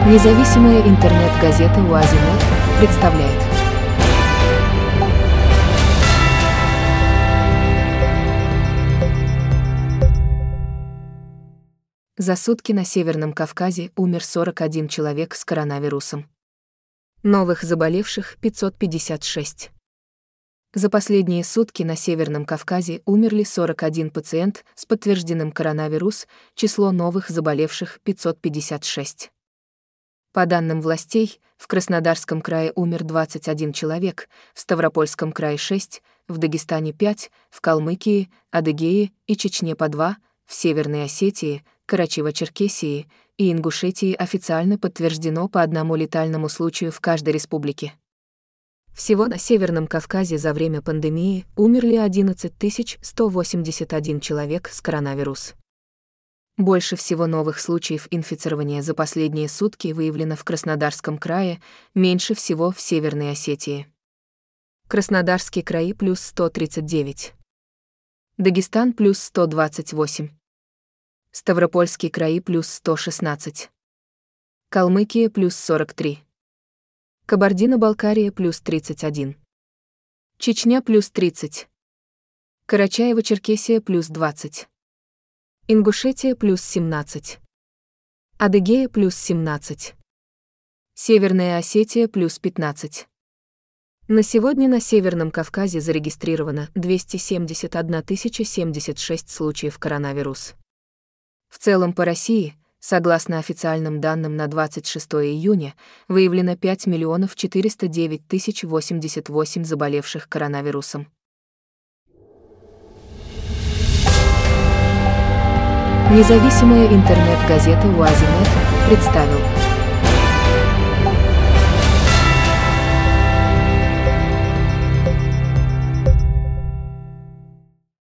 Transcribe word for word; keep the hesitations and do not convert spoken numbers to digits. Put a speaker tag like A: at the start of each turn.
A: Независимая интернет-газета УАЗиНет представляет. За сутки на Северном Кавказе умер сорок один человек с коронавирусом. Новых заболевших пятьсот пятьдесят шесть. За последние сутки на Северном Кавказе умерли сорок один пациент с подтвержденным коронавирус, число новых заболевших пятьсот пятьдесят шесть. По данным властей, в Краснодарском крае умер двадцать один человек, в Ставропольском крае шесть, в Дагестане пять, в Калмыкии, Адыгее и Чечне по два, в Северной Осетии, Карачаево-Черкесии и Ингушетии официально подтверждено по одному летальному случаю в каждой республике. Всего на Северном Кавказе за время пандемии умерли одиннадцать тысяч сто восемьдесят один человек с коронавирусом. Больше всего новых случаев инфицирования за последние сутки выявлено в Краснодарском крае, меньше всего в Северной Осетии. Краснодарский край плюс сто тридцать девять. Дагестан плюс сто двадцать восемь. Ставропольский край плюс сто шестнадцать. Калмыкия плюс сорок три. Кабардино-Балкария плюс тридцать один. Чечня плюс тридцать. Карачаево-Черкесия плюс двадцать. Ингушетия плюс семнадцать. Адыгея плюс семнадцать. Северная Осетия плюс пятнадцать. На сегодня на Северном Кавказе зарегистрировано двести семьдесят одна тысяча семьдесят шесть случаев коронавируса. В целом по России, согласно официальным данным на двадцать шестое июня, выявлено пять миллионов четыреста девять тысяч восемьдесят восемь заболевших коронавирусом. Независимая интернет-газета УАЗиНет представил.